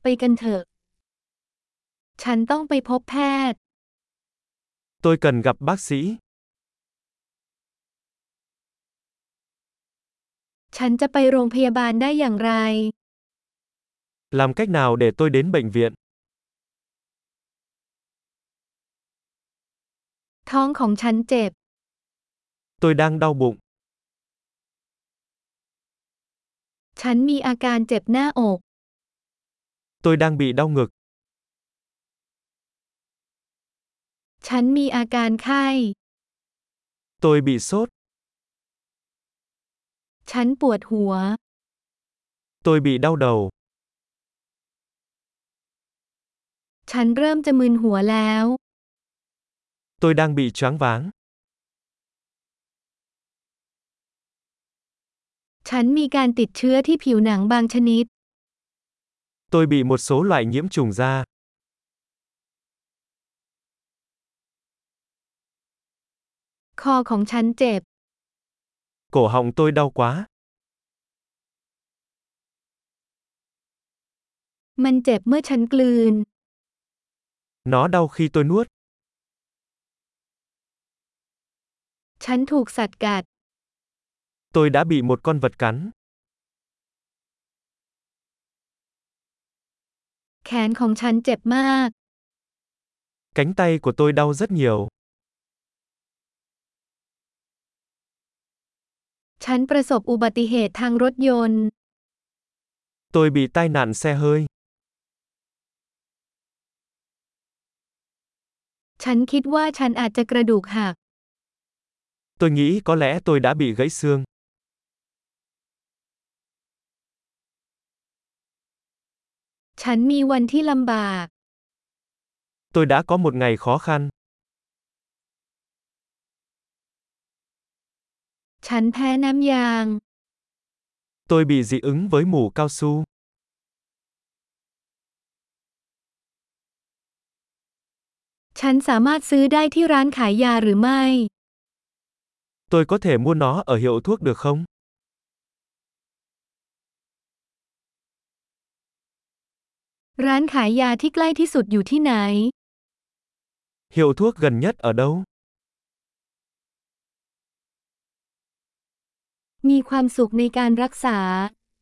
ไปกันเถอะ ฉันต้องไปพบแพทย์ Tôi cần gặp bác sĩ. ฉันจะไปโรงพยาบาลได้อย่างไร Làm cách nào để tôi đến bệnh viện? ท้องของฉันเจ็บ Tôi đang đau bụng. ฉันมีอาการเจ็บหน้าอก Tôi đang bị đau ngực. ฉันมีอาการไข้ Tôi bị sốt. ฉันปวดหัว Tôi bị đau đầu. ฉันเริ่มจะมึนหัวแล้ว Tôi đang bị choáng váng. ฉันมีการติดเชื้อที่ผิวหนังบางชนิด Tôi bị một số loại nhiễm trùng da. คอของฉันเจ็บ Cổ họng tôi đau quá. มันเจ็บเมื่อฉันกลืน Nó đau khi tôi nuốt. ฉันถูกสัตว์กัด Tôi đã bị một con vật cắn. แขนของฉันเจ็บมาก Cánh tay của tôi đau rất nhiều. ฉันประสบอุบัติเหตุทางรถยนต์ Tôi bị tai nạn xe hơi. ฉันคิดว่าฉันอาจจะกระดูกหัก Tôi nghĩ có lẽ tôi đã bị gãy xương. ฉันมีวันที่ลำบาก Tôi đã có một ngày khó khăn. ฉันแพ้น้ำยาง Tôi bị dị ứng với mủ cao su. ฉันสามารถซื้อได้ที่ร้านขายยาหรือไม่ Tôi có thể mua nó ở hiệu thuốc được không? ร้านขายยาที่ใกล้ที่สุดอยู่ที่ไหน Hiệu thuốc gần nhất ở đâu? มีความสุขในการรักษา